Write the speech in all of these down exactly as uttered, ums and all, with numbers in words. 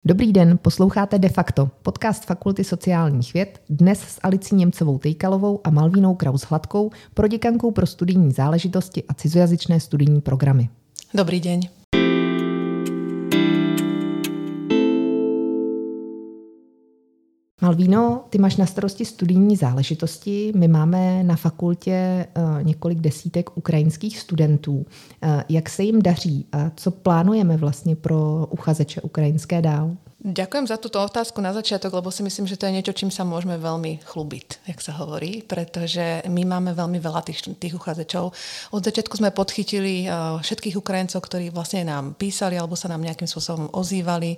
Dobrý den, posloucháte De facto, podcast Fakulty sociálních věd, dnes s Alicí Němcovou-Tejkalovou a Malvínou Kraus-Hladkou, proděkankou pro studijní záležitosti a cizojazyčné studijní programy. Dobrý deň. Malvíno, ty máš na starosti studijní záležitosti, my máme na fakultě uh, několik desítek ukrajinských studentů. Uh, jak se jim daří a co plánujeme vlastně pro uchazeče ukrajinské dál? Ďakujem za túto otázku na začiatok, lebo si myslím, že to je niečo, čím sa môžeme veľmi chlubiť, jak sa hovorí, pretože my máme veľmi veľa tých, tých uchádzačov. Od začiatku sme podchytili uh, všetkých Ukrajincov, ktorí vlastne nám písali alebo sa nám nejakým spôsobom ozývali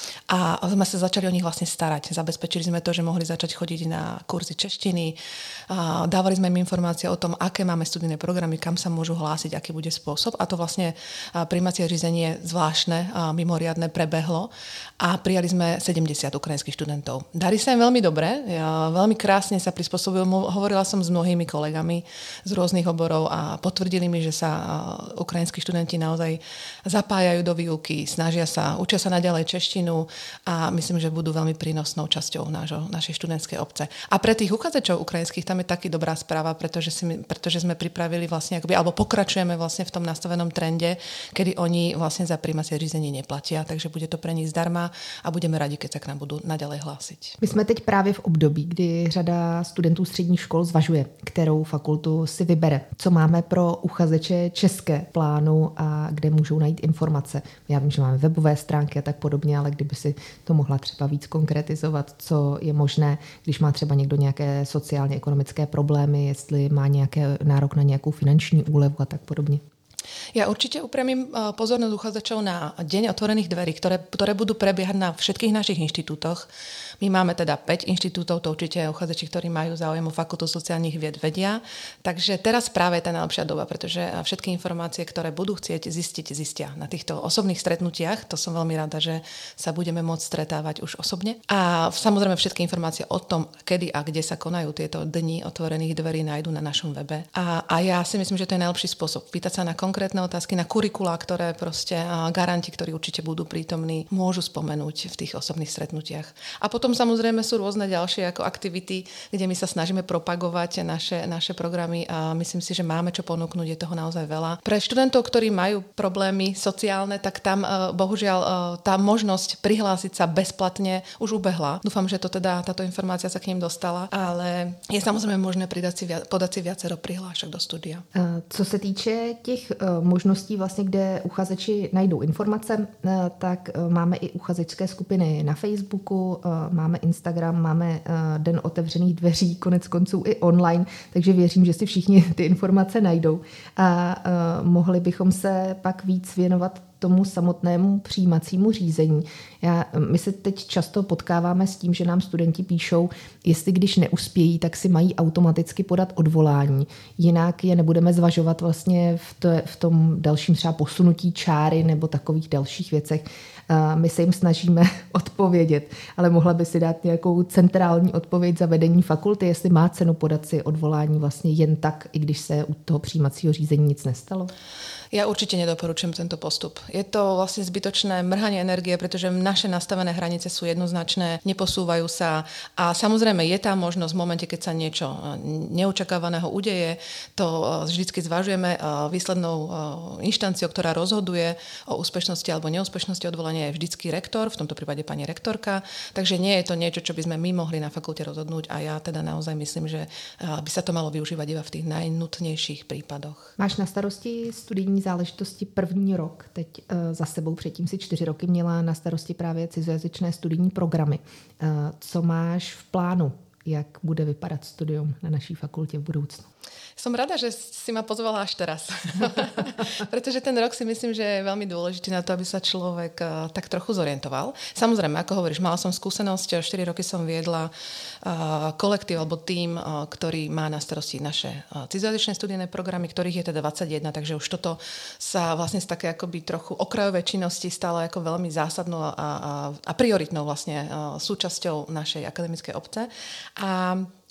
a sme sa začali o nich vlastne starať. Zabezpečili sme to, že mohli začať chodiť na kurzy češtiny, uh, dávali sme im informácie o tom, aké máme studijné programy, kam sa môžu hlásiť, aký bude spôsob a to vlastne uh, prijímacie řízenie zvláštne, uh, mimoriadne prebehlo a prijali sme sedemdesiat ukrajinských študentov. Darí sa im veľmi dobre, ja, veľmi krásne sa prispôsobujú. Hovorila som s mnohými kolegami z rôznych oborov a potvrdili mi, že sa ukrajinskí študenti naozaj zapájajú do výuky, snažia sa, učia sa naďalej češtinu a myslím, že budú veľmi prínosnou časťou nášho, našej študentskej obce. A pre tých uchádzačov ukrajinských tam je taký dobrá správa, pretože, si, pretože sme pripravili vlastne, akoby, alebo pokračujeme vlastne v tom nastavenom trende, kedy oni vlastne za prijímacie řízenie neplatia, takže bude to pre nich zdarma a budeme rádi, keď sa k nám budú naďalej hlásiť. My jsme teď právě v období, kdy řada studentů středních škol zvažuje, kterou fakultu si vybere. Co máme pro uchazeče české plánu a kde můžou najít informace. Já vím, že máme webové stránky a tak podobně, ale kdyby si to mohla třeba víc konkretizovat, co je možné, když má třeba někdo nějaké sociálně-ekonomické problémy, jestli má nějaké nárok na nějakou finanční úlevu a tak podobně. Ja určite upriamím pozornosť uchádzačov na deň otvorených dverí, ktoré, ktoré budú prebiehať na všetkých našich inštitútoch. My máme teda päť inštitútov, to určite uchádzači, ktorí majú záujem o Fakultu sociálnych vied vedia. Takže teraz práve je tá najlepšia doba, pretože všetky informácie, ktoré budú chcieť zistiť, zistia na týchto osobných stretnutiach. To som veľmi rada, že sa budeme môcť stretávať už osobne. A samozrejme všetky informácie o tom, kedy a kde sa konajú tieto dni otvorených dverí, nájdu na našom webe. A, a ja si myslím, že to je najlepší spôsob. Pýtať sa na konkrétne otázky, na kurikulá, ktoré proste garanti, ktorí určite budú prítomní, môžu spomenúť v tých osobných stretnutiach. A potom samozrejme sú rôzne ďalšie ako aktivity, kde my sa snažíme propagovať naše, naše programy a myslím si, že máme čo ponúknuť, je toho naozaj veľa. Pre študentov, ktorí majú problémy sociálne, tak tam bohužiaľ tá možnosť prihlásiť sa bezplatne už ubehla. Dúfam, že to teda, táto informácia sa k ním dostala, ale je samozrejme možné pridať si, podať si viacero prihlášok do studia. Co se týče těch možností, vlastně, kde uchazeči najdou informace, tak máme i uchazečské skupiny na Facebooku, máme Instagram, máme Den otevřených dveří, konec konců i online, takže věřím, že si všichni ty informace najdou. A mohli bychom se pak víc věnovat tomu samotnému přijímacímu řízení. Já, my se teď často potkáváme s tím, že nám studenti píšou, jestli když neuspějí, tak si mají automaticky podat odvolání. Jinak je nebudeme zvažovat vlastně v, to, v tom dalším třeba posunutí čáry nebo takových dalších věcech. My se jim snažíme odpovědět, ale mohla by si dát nějakou centrální odpověď za vedení fakulty, jestli má cenu podat si odvolání vlastně jen tak, i když se u toho přijímacího řízení nic nestalo? Ja určite nedoporučujem tento postup. Je to vlastne zbytočné mrhanie energie, pretože naše nastavené hranice sú jednoznačné, neposúvajú sa a samozrejme je tá možnosť v momente, keď sa niečo neočakávaného udeje, to vždycky zvažujeme výslednou inštanciou, ktorá rozhoduje o úspešnosti alebo neúspešnosti odvolania je vždycky rektor, v tomto prípade pani rektorka, takže nie je to niečo, čo by sme my mohli na fakulte rozhodnúť a ja teda naozaj myslím, že by sa to malo využívať iba v tých najnutnejších prípadoch. Máš na starosti studijní záležitosti první rok. Teď uh, za sebou předtím si čtyři roky měla na starosti právě cizojazyčné studijní programy. Uh, co máš v plánu? Jak bude vypadat studium na naší fakultě v budoucnu? Som rada, že si ma pozvala až teraz. Pretože ten rok si myslím, že je veľmi dôležitý na to, aby sa človek uh, tak trochu zorientoval. Samozrejme, ako hovoríš, mala som skúsenosť, štyri roky som viedla uh, kolektív alebo tím, uh, ktorý má na starosti naše uh, cizojazyčné studijné programy, ktorých je teda dvadsaťjeden, takže už toto sa vlastne z také akoby trochu okrajové činnosti stalo ako veľmi zásadnou a, a, a prioritnou vlastne uh, súčasťou našej akademickej obce. A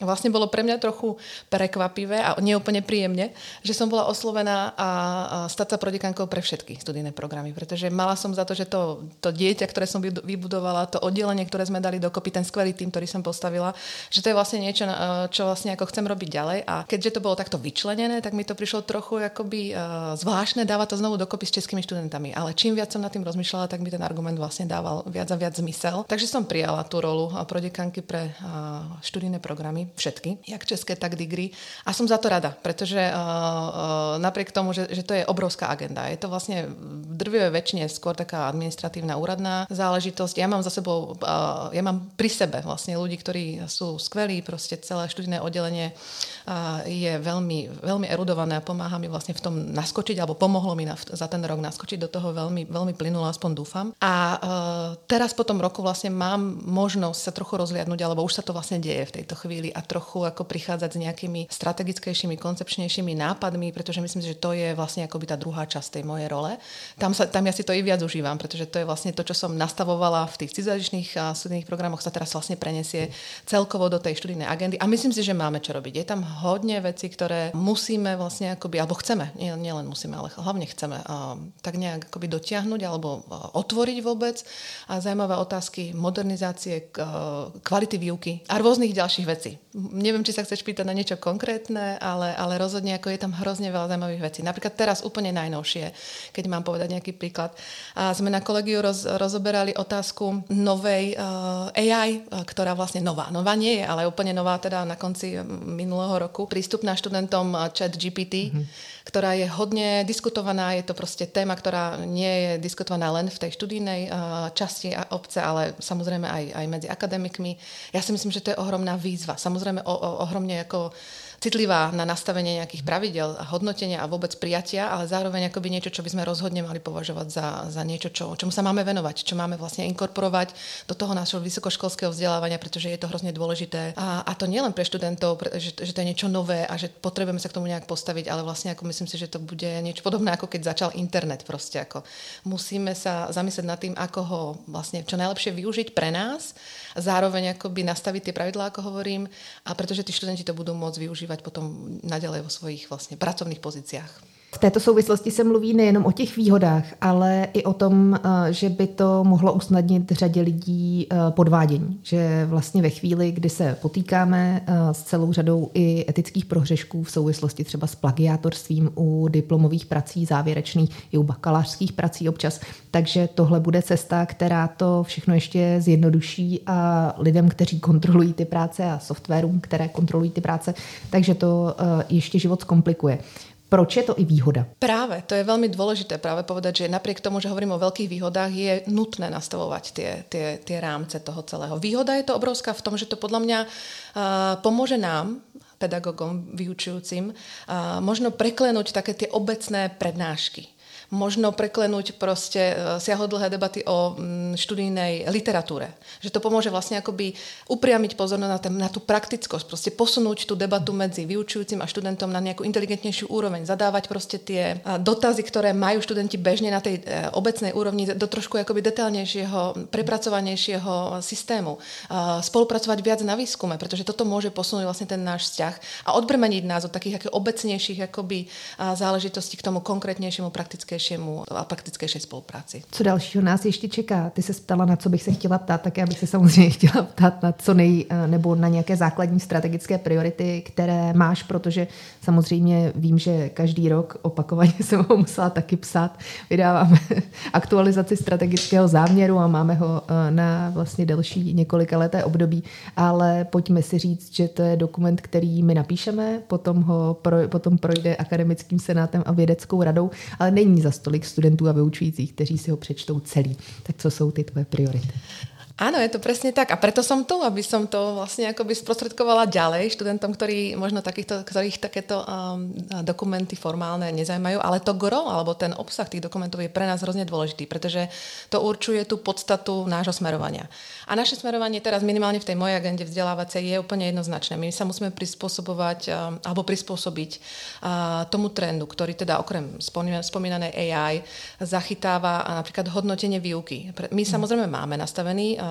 vlastne bolo pre mňa trochu prekvapivé a neúplne príjemne, že som bola oslovená a stať sa prodekánkou pre všetky studijné programy, pretože mala som za to, že to, to dieťa, ktoré som vybudovala, to oddelenie, ktoré sme dali dokopy, ten skvelý tým, ktorý som postavila, že to je vlastne niečo, čo vlastne ako chcem robiť ďalej. A keďže to bolo takto vyčlenené, tak mi to prišlo trochu akoby zvláštne dávať to znovu dokopy s českými študentami. Ale čím viac som nad tým rozmýšľala, tak mi ten argument vlastne dával viac a viac zmysel. Takže som prijala tú rolu prodekánky pre študijné programy, všetky, jak české, tak degree. A som za to rada, pretože uh, uh, napriek tomu, že, že to je obrovská agenda. Je to vlastne v drvivej väčšine skôr taká administratívna úradná záležitosť. Ja mám za sebou, uh, ja mám pri sebe vlastne ľudí, ktorí sú skvelí, proste celé študijné oddelenie uh, je veľmi, veľmi erudované a pomáha mi vlastne v tom naskočiť, alebo pomohlo mi na, za ten rok naskočiť do toho veľmi, veľmi plynulo, aspoň dúfam. A uh, teraz po tom roku vlastne mám možnosť sa trochu rozliadnúť, alebo už sa to vlastne deje v tejto chvíli a trochu ako prichádzať s nejakými strategickejšími, koncepčnejšími nápadmi, pretože myslím si, že to je vlastne akoby tá druhá časť tej mojej role. Tam, sa, tam ja si to i viac užívam, pretože to je vlastne to, čo som nastavovala v tých cizojazyčných a studijných programoch, sa teraz vlastne prenesie celkovo do tej študijnej agendy a myslím si, že máme čo robiť. Je tam hodne vecí, ktoré musíme vlastne akoby, alebo chceme, nie, nie len musíme, ale hlavne chceme uh, tak nejak akoby dotiahnuť alebo uh, otvoriť vôbec a zaujímavé otázky modernizácie, uh, kvality výuky a rôznych ďalších vecí. Neviem, či sa chceš pýtať na niečo konkrétne, ale, ale rozhodne ako je tam hrozne veľa zaujímavých vecí. Napríklad teraz úplne najnovšie, keď mám povedať nejaký príklad. A sme na kolegiu roz, rozoberali otázku novej uh, á í, ktorá vlastne nová. Nová nie je, ale úplne nová teda na konci minulého roku. Prístupná študentom ChatGPT, mm-hmm. ktorá je hodne diskutovaná. Je to proste téma, ktorá nie je diskutovaná len v tej študijnej uh, časti obce, ale samozrejme aj, aj medzi akademikmi. Ja si myslím, že to je ohromná výzva. Samozrejme o, o, ohromne ako citlivá na nastavenie nejakých pravidel a hodnotenia a vôbec prijatia, ale zároveň akoby niečo, čo by sme rozhodne mali považovať za, za niečo, čo, čomu sa máme venovať, čo máme vlastne inkorporovať do toho nášho vysokoškolského vzdelávania, pretože je to hrozne dôležité. A, a to nie len pre študentov, pre, že, že to je niečo nové a že potrebujeme sa k tomu nejak postaviť, ale vlastne ako myslím si, že to bude niečo podobné, ako keď začal internet proste. Ako musíme sa zamyslieť nad tým, ako ho vlastne čo najlepšie využiť pre nás, zároveň akoby nastaviť tie pravidlá, ako hovorím, a pretože tí študenti to budú môcť využívať potom naďalej vo svojich vlastne pracovných pozíciách. V této souvislosti se mluví nejenom o těch výhodách, ale i o tom, že by to mohlo usnadnit řadě lidí podvádění. Že vlastně ve chvíli, kdy se potýkáme s celou řadou i etických prohřešků v souvislosti třeba s plagiátorstvím u diplomových prací závěrečných i u bakalářských prací občas, takže tohle bude cesta, která to všechno ještě zjednoduší a lidem, kteří kontrolují ty práce a softwarům, které kontrolují ty práce, takže to ještě život zkomplikuje. Proč je to i výhoda? Práve, to je veľmi dôležité práve povedať, že napriek tomu, že hovorím o veľkých výhodách, je nutné nastavovať tie, tie, tie rámce toho celého. Výhoda je to obrovská v tom, že to podľa mňa uh, pomôže nám, pedagogom, vyučujúcim, uh, možno preklenúť také tie obecné prednášky. Možno preklenúť proste siahodlhé debaty o študijnej literatúre. Že to pomôže vlastne akoby upriamiť pozornosť na, ten, na tú praktickosť, proste posunúť tú debatu medzi vyučujúcim a študentom na nejakú inteligentnejšiu úroveň, zadávať proste tie dotazy, ktoré majú študenti bežne na tej obecnej úrovni do trošku akoby detailnejšieho, prepracovanejšieho systému. Spolupracovať viac na výskume, pretože toto môže posunúť vlastne ten náš vzťah a odbrmeniť nás od takých ako obecnejších akoby záležitostí k tomu konkrétnejšiemu, praktickejšiemu a praktickejšej spolupráci. Co dalšího nás ještě čeká? Ty se ptala, na co bych se chtěla ptát, tak já bych se samozřejmě chtěla ptát na co nej, nebo na nějaké základní strategické priority, které máš, protože samozřejmě vím, že každý rok opakovaně jsem ho musela taky psát. Vydáváme aktualizaci strategického záměru a máme ho na vlastně delší několika leté období, ale pojďme si říct, že to je dokument, který my napíšeme, potom ho pro, potom projde akademickým senátem a vědeckou radou, ale není za stolik studentů a vyučujících, kteří si ho přečtou celý. Tak co jsou ty tvoje priority? Áno, je to presne tak a preto som tu, aby som to vlastne akoby sprostredkovala ďalej študentom, ktorí možno takýchto, ktorých takéto um, dokumenty formálne nezaujímajú, ale to gro, alebo ten obsah tých dokumentov je pre nás hrozne dôležitý, pretože to určuje tú podstatu nášho smerovania. A naše smerovanie teraz minimálne v tej mojej agende vzdelávacej je úplne jednoznačné. My sa musíme prispôsobovať um, alebo prispôsobiť uh, tomu trendu, ktorý teda okrem spomínanej á í zachytáva napríklad hodnotenie výuky. My samozrejme máme nastavený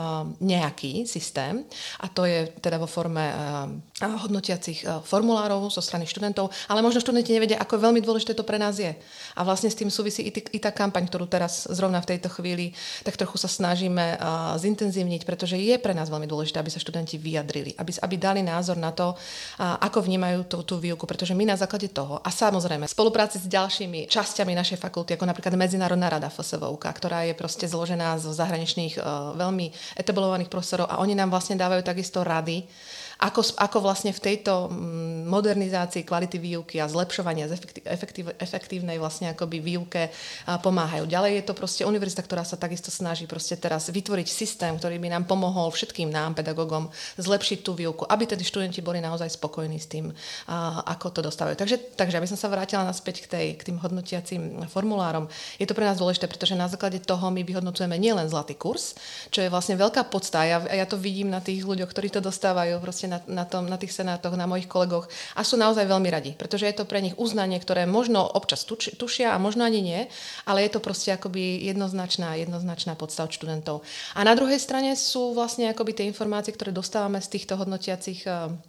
nejaký systém a to je teda vo forme hodnotiacich formulárov zo strany študentov, ale možno študenti nevedia, ako veľmi dôležité to pre nás je. A vlastne s tým súvisí i, t- i tá kampaň, ktorú teraz zrovna v tejto chvíli tak trochu sa snažíme uh, zintenzívniť, pretože je pre nás veľmi dôležité, aby sa študenti vyjadrili, aby, aby dali názor na to, uh, ako vnímajú tú, tú výuku, pretože my na základe toho a samozrejme v spolupráci s ďalšími časťami našej fakulty, ako napríklad Medzinárodná rada ef es vé ú ká, ktorá je proste zložená zo zahraničných uh, veľmi etablovaných profesorov a oni nám vlastne dávajú takisto rady, Ako, ako vlastne v tejto modernizácii kvality výuky a zlepšovania efektív, efektívnej vlastne akoby výuke pomáhajú. Ďalej je to proste univerzita, ktorá sa takisto snaží proste teraz vytvoriť systém, ktorý by nám pomohol všetkým nám, pedagógom, zlepšiť tú výuku, aby tedy študenti boli naozaj spokojní s tým, ako to dostávajú. Takže, takže aby som sa vrátila naspäť k, tej, k tým hodnotiacím formulárom, je to pre nás dôležité, pretože na základe toho my vyhodnocujeme nielen zlatý kurz, čo je vlastne veľká podsta. Ja, ja to vidím na tých ľuďoch, ktorí to dostávajú proste Na, na, tom, na tých senátoch, na mojich kolegoch a sú naozaj veľmi radi, pretože je to pre nich uznanie, ktoré možno občas tuč, tušia a možno ani nie, ale je to proste akoby jednoznačná, jednoznačná podsta od študentov. A na druhej strane sú vlastne akoby tie informácie, ktoré dostávame z týchto hodnotiacich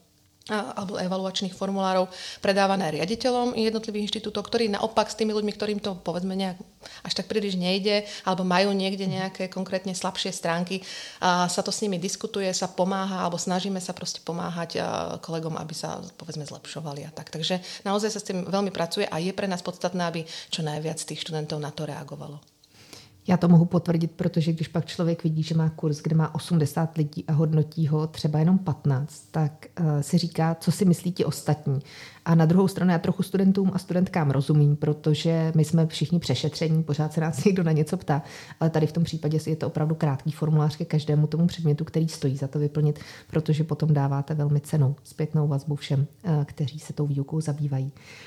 alebo evaluačných formulárov predávané riaditeľom jednotlivých inštitútov, ktorí naopak s tými ľuďmi, ktorým to povedzme nejak až tak príliš nejde, alebo majú niekde nejaké konkrétne slabšie stránky, a sa to s nimi diskutuje, sa pomáha, alebo snažíme sa proste pomáhať kolegom, aby sa povedzme zlepšovali a tak. Takže naozaj sa s tým veľmi pracuje a je pre nás podstatné, aby čo najviac tých študentov na to reagovalo. Já to mohu potvrdit, protože když pak člověk vidí, že má kurz, kde má osmdesát lidí a hodnotí ho třeba jenom patnáct, tak uh, si říká, co si myslí ti ostatní. A na druhou stranu já trochu studentům a studentkám rozumím, protože my jsme všichni přešetření, pořád se nás někdo na něco ptá, ale tady v tom případě je to opravdu krátký formulář ke každému tomu předmětu, který stojí za to vyplnit, protože potom dáváte velmi cennou zpětnou vazbu všem, uh, kteří se tou výukou zabývají.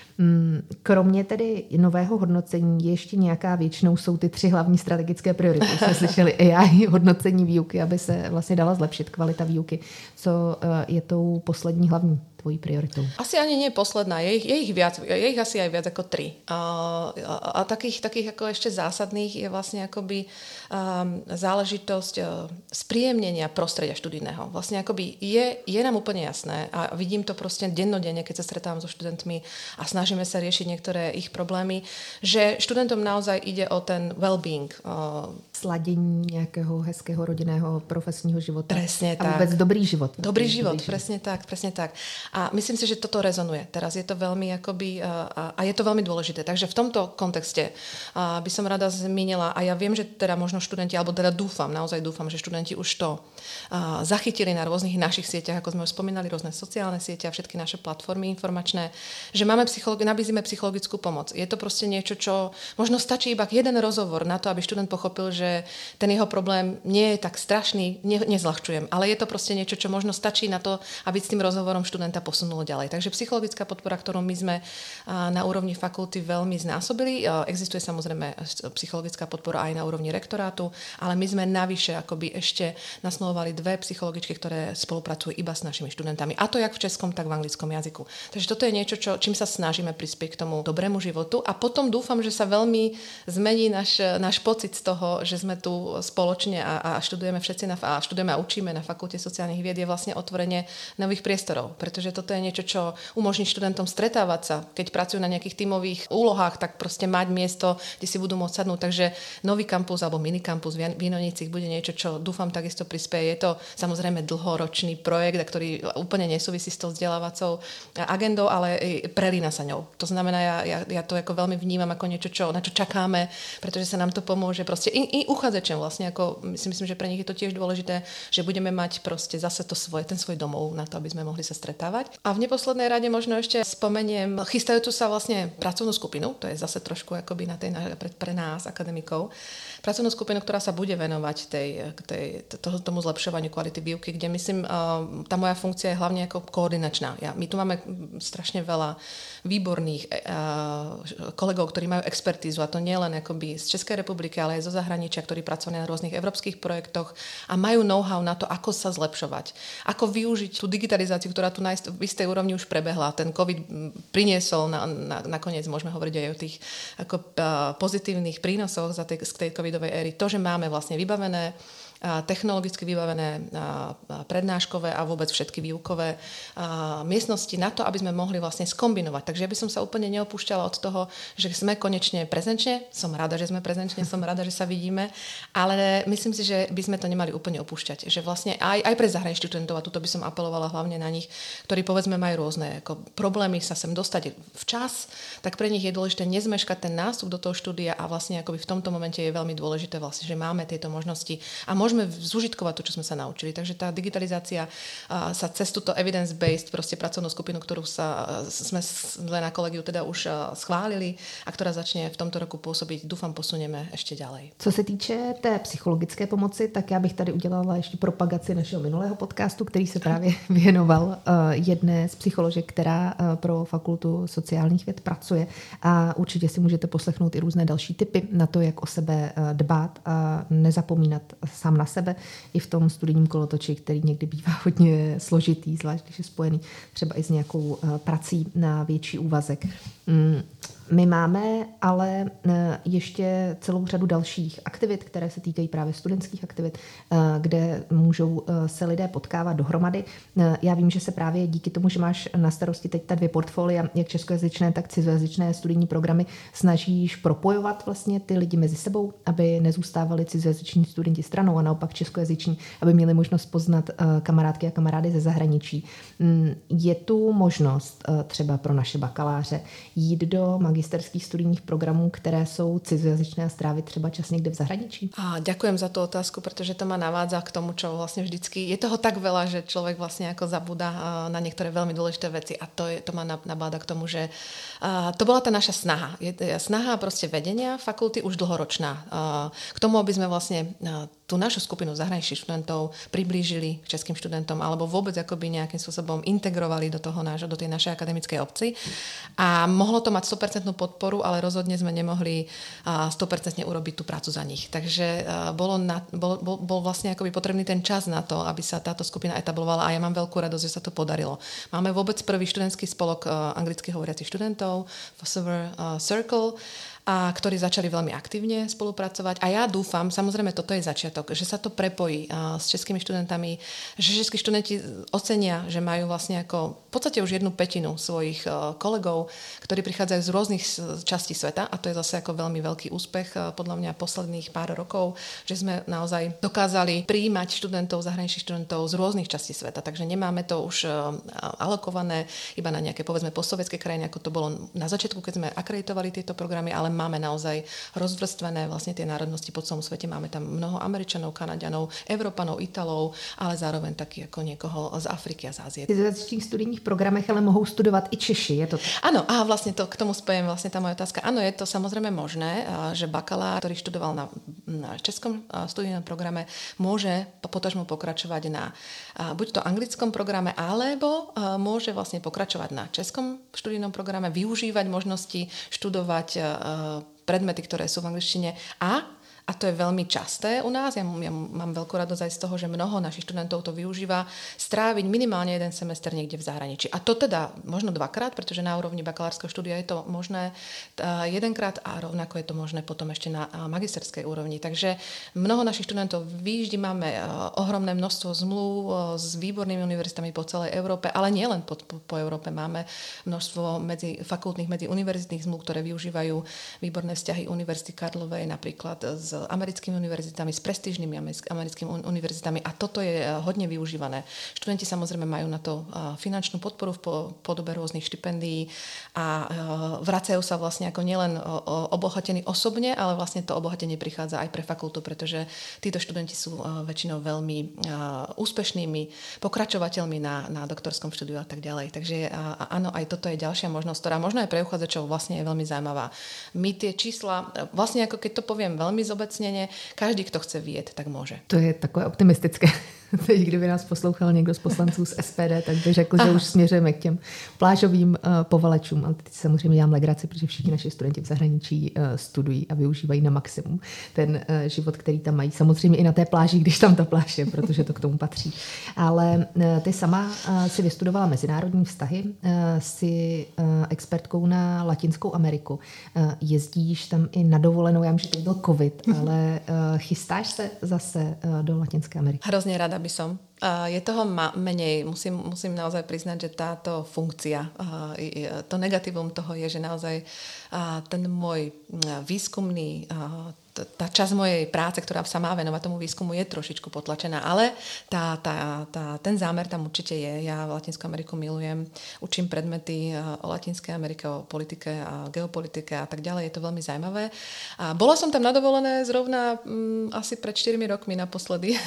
Kromě tedy nového hodnocení je ještě nějaká, většinou jsou ty tři hlavní strategické priority. Jsme slyšeli A I, hodnocení výuky, aby se vlastně dala zlepšit kvalita výuky. Co je tou poslední hlavní tvojí prioritou? Asi ani nie posledná, je ich, je ich viac, je ich asi aj viac ako tri. A, a, a takých, takých ako ešte zásadných je vlastne akoby um, záležitosť uh, spríjemnenia prostredia študijného. Vlastne akoby je, je nám úplne jasné a vidím to proste dennodenne, keď sa stretávam so študentmi a snažíme sa riešiť niektoré ich problémy, že študentom naozaj ide o ten well-being. Uh, Sladění nějakého hezkého rodinného profesního života. Presne tak. A vôbec dobrý život. Dobrý život, dobrý presne život. tak, presne tak. A myslím si, že toto rezonuje. Teraz je to veľmi akoby, a, a je to veľmi dôležité. Takže v tomto kontexte a, by som rada zmínila, a ja viem, že teda možno študenti, alebo teda dúfam, naozaj dúfam, že študenti už to a, zachytili na rôznych našich sieťach, ako sme už spomínali, rôzne sociálne siete a všetky naše platformy informačné, že máme psychologi- nabízime psychologickú pomoc. Je to proste niečo, čo možno stačí iba jeden rozhovor na to, aby študent pochopil, že ten jeho problém nie je tak strašný, ne, nezľahčujem, ale je to proste niečo, čo možno stačí na to, aby s tým rozhovorom študenta posunulo ďalej. Takže psychologická podpora, ktorú my sme na úrovni fakulty veľmi znásobili. Existuje samozrejme psychologická podpora aj na úrovni rektorátu, ale my sme navyše akoby ešte nasmerovali dve psychologičky, ktoré spolupracujú iba s našimi študentami. A to jak v českom, tak v anglickom jazyku. Takže toto je niečo, čo, čím sa snažíme prispieť k tomu dobrému životu a potom dúfam, že sa veľmi zmení náš, náš pocit z toho, že sme tu spoločne a, a študujeme všetci na, a študujeme a učíme na Fakulte sociálnych vied, je vlastne otvorenie nových priestorov, pretože toto je niečo, čo umožní študentom stretávať sa. Keď pracujú na nejakých tímových úlohách, tak proste mať miesto, kde si budú môcť sadnúť. Takže nový kampus alebo minikampus v Vinonicích bude niečo, čo dúfam takisto prispieje. Je to samozrejme dlhoročný projekt, ktorý úplne nesúvisí s tou vzdelávacou agendou, ale prelína sa ňou. To znamená, ja, ja, ja to ako veľmi vnímam ako niečo, čo, na čo čakáme, pretože sa nám to pomôže proste i, i uchádzačom vlastne, ako si myslím, že pre nich je to tiež dôležité, že budeme mať proste zase to svoje, ten svoj domov na to, aby sme mohli sa stretávať. A v neposlednej rade možno ešte spomeniem chystajúcu sa vlastne pracovnú skupinu, to je zase trošku akoby na tej, pre, pre nás, akademikov, pracovnú skupinu, ktorá sa bude venovať tej, tej, toho, tomu zlepšovaniu kvality výuky, kde myslím, tá moja funkcia je hlavne ako koordinačná. Ja, my tu máme strašne veľa výborných kolegov, ktorí majú expertízu, a to nie len akoby z Českej republiky, ale aj zo zahraničia, ktorí pracovali na rôznych európskych projektoch a majú know-how na to, ako sa zlepšovať, ako využiť tú digitalizáciu, ktorá tu na v istej úrovni už prebehla. Ten COVID priniesol, na, na, nakoniec môžeme hovoriť aj o tých ako, pozitívnych prínosoch za tej, z tej covidovej éry. To, že máme vlastne vybavené technologicky vybavené prednáškové a vôbec všetky výukové miestnosti na to, aby sme mohli vlastne skombinovať. Takže ja by som sa úplne neopúšťala od toho, že sme konečne prezenčne, som rada, že sme prezenčne, som rada, že sa vidíme, ale myslím si, že by sme to nemali úplne opúšťať. Že vlastne aj, aj pre zahraničných študentov, a tuto by som apelovala hlavne na nich, ktorí povedzme majú rôzne ako problémy sa sem dostať včas, tak pre nich je dôležité nezmeškať ten nástup do toho štúdia a vlastne akoby v tomto momente je veľmi dôležité vlastne, že máme tieto možnosti a môžeme zúžitkovať to, čo sme sa naučili. Takže tá digitalizácia a, sa cez túto evidence-based proste pracovnú skupinu, ktorú sa sme na kolegiu teda už a, schválili a ktorá začne v tomto roku pôsobiť, dúfam, posunieme ešte ďalej. Co se týče té psychologické pomoci, tak já bych tady udělala ještě propagaci našeho minulého podcastu, který se právě věnoval uh, jedné z psycholožek, která uh, pro Fakultu sociálních věd pracuje a určitě si můžete poslechnout i různé další tipy na to, jak o sebe uh, dbát a nezapomínat sám na sebe i v tom studijním kolotoči, který někdy bývá hodně složitý, zvlášť když je spojený třeba i s nějakou uh, prací na větší úvazek. Mm. My máme ale ještě celou řadu dalších aktivit, které se týkají právě studentských aktivit, kde můžou se lidé potkávat dohromady. Já vím, že se právě díky tomu, že máš na starosti teď ta dvě portfolia, jak českojazyčné, tak cizojazyčné studijní programy, snažíš propojovat vlastně ty lidi mezi sebou, aby nezůstávali cizojazyční studenti stranou a naopak českojazyční, aby měli možnost poznat kamarádky a kamarády ze zahraničí. Je tu možnost třeba pro naše bakaláře jít do magisterských studijních programů, které jsou cizojazyčné a strávit třeba čas někde v zahraničí? A ďakujem za tú otázku, pretože to ma navádza k tomu, čo vlastne vždycky... Je toho tak veľa, že človek vlastne ako zabúda na niektoré veľmi dôležité veci a to, je, to ma nabáda k tomu, že to bola tá naša snaha. Je snaha proste vedenia fakulty už dlhoročná. K tomu, aby sme vlastne tú našu skupinu zahraničných študentov priblížili k českým študentom alebo vôbec akoby nejakým spôsobom integrovali do toho nášho, do tej našej akademickej obci. A mohlo to mať sto percent podporu, ale rozhodne sme nemohli sto percent urobiť tú prácu za nich. Takže bolo na, bol, bol, bol vlastne akoby potrebný ten čas na to, aby sa táto skupina etablovala a ja mám veľkú radosť, že sa to podarilo. Máme vôbec prvý študentský spolok anglicky hovoriacich študentov, Forever Circle, a ktorí začali veľmi aktívne spolupracovať. A ja dúfam, samozrejme toto je začiatok, že sa to prepojí a, s českými študentami, že českí študenti ocenia, že majú vlastne ako v podstate už jednu pätinu svojich a, kolegov, ktorí prichádzajú z rôznych častí sveta a to je zase ako veľmi veľký úspech a, podľa mňa posledných pár rokov, že sme naozaj dokázali prijímať študentov, zahraničných študentov z rôznych častí sveta. Takže nemáme to už a, alokované iba na nejaké povedzme postsovietské krajiny, ako to bolo na začiatku, keď sme akreditovali tieto programy, ale máme naozaj rozvrstvené vlastne tie národnosti po celom svete. Máme tam mnoho Američanov, Kanaďanov, Európanov, Italov, ale zároveň taky ako niekoho z Afriky a z Ázie. V zahraničných studijních programech ale mohou studovat i Češi, je to tak? Áno, a vlastne to, k tomu spojím vlastne tá moja otázka. Áno, je to samozrejme možné, že bakalár, ktorý študoval na, na českom studijnom programe, môže potažmo pokračovať na buď to anglickom programe, alebo môže vlastne pokračovať na českom študijnom programe, využívať možnosti študovať predmety, ktoré sú v angličtine a A to je veľmi časté u nás. Ja, ja mám veľkú radosť aj z toho, že mnoho našich študentov to využíva stráviť minimálne jeden semester niekde v zahraničí. A to teda možno dvakrát, pretože na úrovni bakalárskeho štúdia je to možné jedenkrát a rovnako je to možné potom ešte na magisterskej úrovni. Takže mnoho našich študentov výjíždi, máme ohromné množstvo zmluv s výbornými univerzitami po celej Európe, ale nielen po, po, po Európe. Máme množstvo medzi fakultných, medzi univerzitných zmluv, ktoré využívajú výborné vzťahy Univerzity Karlovej, napríklad z americkými univerzitami, s prestížnymi americkými univerzitami a toto je hodne využívané. Študenti samozrejme majú na to finančnú podporu v podobe rôznych štipendií a vracajú sa vlastne ako nielen obohatení osobne, ale vlastne to obohatenie prichádza aj pre fakultu, pretože títo študenti sú väčšinou veľmi úspešnými pokračovateľmi na, na doktorskom štúdiu a tak ďalej. Takže áno, aj toto je ďalšia možnosť, ktorá možno aj pre uchádzačov vlastne je veľmi zaujímavá. My tie čísla, vlastne ako keď to poviem veľmi zobecnene, každý, kto chce vyjet, tak môže. To je takové optimistické. teď kdyby nás poslouchal někdo z poslanců z S P D, tak by řekl, Aha. že už směřujeme k těm plážovým uh, povalečům. Ale teď samozřejmě dělám legraci, protože všichni naši studenti v zahraničí uh, studují a využívají na maximum ten uh, život, který tam mají. Samozřejmě i na té pláži, když tam ta pláž je, protože to k tomu patří. Ale uh, ty sama uh, si vystudovala mezinárodní vztahy, uh, si uh, expertkou na Latinskou Ameriku. Uh, jezdíš tam i na dovolenou, já vím, že to byl covid, ale uh, chystáš se zase uh, do Latinské Ameriky? Hrozně ráda by som. Uh, je toho ma- menej. Musím, musím naozaj priznať, že táto funkcia, uh, to negatívum toho je, že naozaj uh, ten môj výskumný uh, tá časť mojej práce, ktorá sa má venovať tomu výskumu, je trošičku potlačená, ale tá, tá, tá, ten zámer tam určite je. Ja Latinskú Ameriku milujem, učím predmety o Latinskej Amerike, o politike a geopolitike a tak ďalej, je to veľmi zaujímavé. A bola som tam na dovolené zrovna um, asi pred štyrmi rokmi naposledy,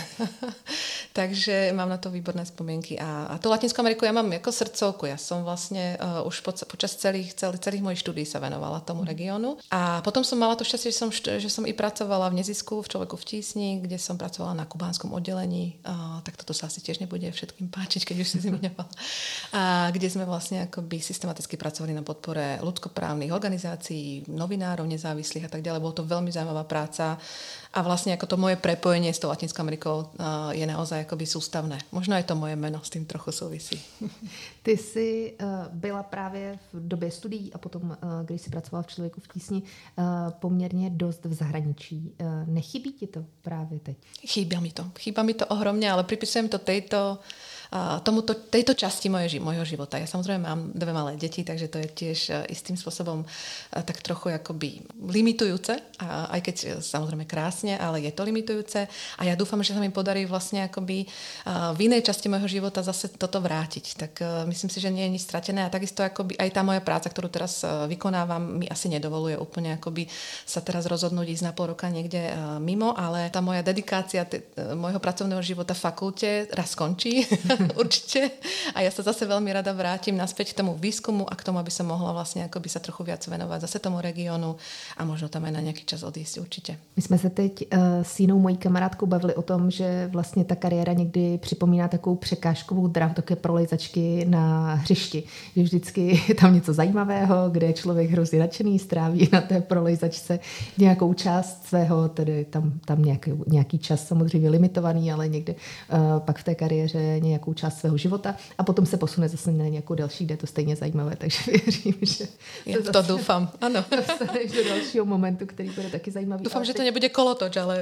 takže mám na to výborné spomienky. A, a tú Latinskú Ameriku ja mám ako srdcovku, ja som vlastne uh, už po, počas celých, celých, celých mojich štúdií sa venovala tomu regiónu. A potom som mala to šťastie, že som, že som i pracovala v nezisku v Človeku v tísni, kde som pracovala na kubánskom oddelení. A, tak toto sa asi tiež nebude všetkým páčiť, keď už si zmiňovala. A kde sme vlastne akoby systematicky pracovali na podpore ľudskoprávnych organizácií, novinárov nezávislých a tak ďalej. Bolo to veľmi zaujímavá práca a vlastne ako to moje prepojenie s tou Latinskou Amerikou je naozaj akoby sústavné. Možno aj to moje meno s tým trochu souvisí. Ty jsi uh, byla právě v době studií a potom, uh, když jsi pracovala v Člověku v tísni, uh, poměrně dost v zahraničí. Uh, nechybí ti to právě teď? Chýba mi to. Chýba mi to ohromne, ale pripisujem to tejto tomuto, tejto časti moje, mojho života. Ja samozrejme mám dve malé deti, takže to je tiež istým spôsobom tak trochu akoby limitujúce, a aj keď samozrejme krásne, ale je to limitujúce a ja dúfam, že sa mi podarí vlastne akoby v inej časti môjho života zase toto vrátiť. Tak myslím si, že nie je nič stratené a takisto akoby aj tá moja práca, ktorú teraz vykonávam, mi asi nedovoluje úplne akoby sa teraz rozhodnúť ísť na pol roka niekde mimo, ale tá moja dedikácia t- môjho pracovného života v fakulte raz skončí. Určite. A ja sa zase veľmi rada vrátim naspäť k tomu výskumu a k tomu, aby som mohla vlastne akoby sa trochu viac venovať zase tomu regiónu a možno tam aj na nejaký čas odísť určite. My jsme se teď uh, s jinou mojí kamarádkou bavili o tom, že vlastně ta kariéra někdy připomíná takovou překážkovou dráhu, také prolejzačky na hřišti. Že vždycky je tam něco zajímavého, kde je člověk hrozně nadšený, stráví na té prolejzačce nějakou část svého, tedy tam, tam nějaký, nějaký čas samozřejmě limitovaný, ale někde uh, pak v té kariéře nějakou část svého života a potom se posune zase na nějakou další, kde je to stejně zajímavé, takže věřím, že ja to zase doufám, ano. Dostaneš do dalšího momentu, který bude taky zajímavý. Doufám, že to nebude kolotoč, ale...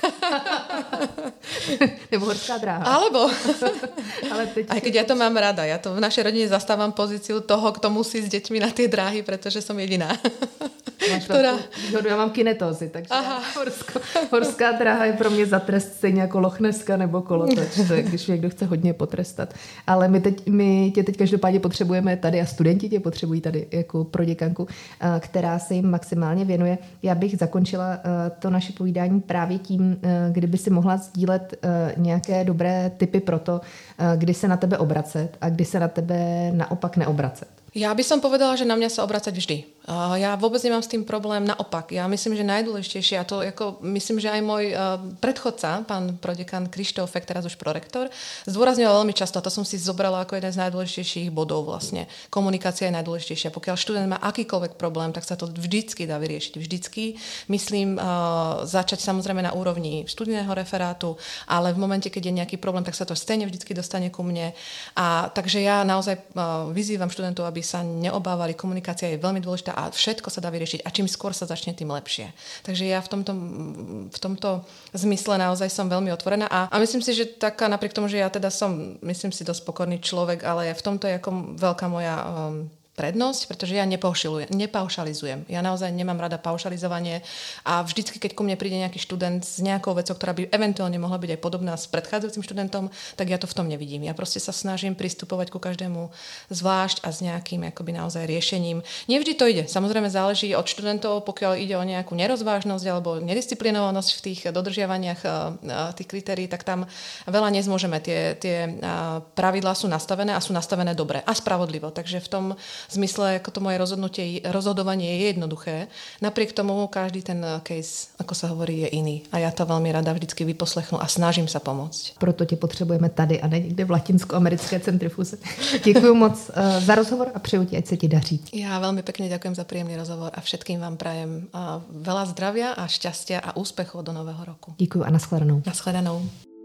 Nebo horská dráha. Alebo. Ale teď... Aj keď ja to mám rada, ja to v našej rodine zastávam pozíciu toho, kto musí s deťmi na tie dráhy, pretože som jediná. Máš ktorá... výhodu, já mám kinetózy, takže horsko, horská dráha je pro mě za trest stejně jako lochneska nebo kolotoč, to je, když někdo chce hodně potrestat. Ale my, teď, my tě teď každopádně potřebujeme tady a studenti tě potřebují tady jako proděkanku, která se jim maximálně věnuje. Já bych zakončila to naše povídání právě tím, kdyby si mohla sdílet nějaké dobré tipy pro to, kdy se na tebe obracet a kdy se na tebe naopak neobracet. Ja by som povedala, že na mňa sa obracať vždy. Ja vôbec nemám s tým problém, naopak. Ja myslím, že najdôležitejšie, a to ako, myslím, že aj môj predchodca, pán prodekan Krištófek, teraz už prorektor, zdôrazňoval veľmi často, a to som si zobrala ako jeden z najdôležitejších bodov vlastne. Komunikácia je najdôležitejšia. Pokiaľ študent má akýkoľvek problém, tak sa to vždycky dá vyriešiť. Vždycky, myslím, začať samozrejme na úrovni študijného referátu, ale v momente, keď je nejaký problém, tak sa to stejne vždycky dostane ku mne. A takže ja naozaj vyzývam študentov, aby sa neobávali, komunikácia je veľmi dôležitá a všetko sa dá vyriešiť a čím skôr sa začne, tým lepšie. Takže ja v tomto, v tomto zmysle naozaj som veľmi otvorená a, a myslím si, že taká napriek tomu, že ja teda som, myslím si, dosť pokorný človek, ale v tomto je ako veľká moja um, prednosť, pretože ja nepaušalizujem. Ja naozaj nemám rada paušalizovanie a vždycky, keď ku mne príde nejaký študent s nejakou vecou, ktorá by eventuálne mohla byť aj podobná s predchádzajúcim študentom, tak ja to v tom nevidím. Ja proste sa snažím pristupovať ku každému zvlášť a s nejakým akoby naozaj riešením. Nevždy to ide. Samozrejme záleží od študentov, pokiaľ ide o nejakú nerozvážnosť alebo nedisciplinovanosť v tých dodržiavaniach tých kritérií, tak tam veľa nezmôžeme. Tie, tie pravidlá sú nastavené a sú nastavené dobre a spravodlivo. Takže v tom zmysle, ako to moje rozhodnutie, rozhodovanie je jednoduché. Napriek tomu každý ten case, ako sa hovorí, je iný. A ja to veľmi rada vždycky vyposlechnu a snažím sa pomôcť. Proto tě potřebujeme tady a ne někde v latinskoamerické centrifuze. Děkuji moc uh, za rozhovor a přeju ti, ať se ti daří. Ja veľmi pekne ďakujem za príjemný rozhovor a všetkým vám prajem uh, veľa zdravia a šťastia a úspechov do nového roku. Děkuji a nashledanou. Nashledanou.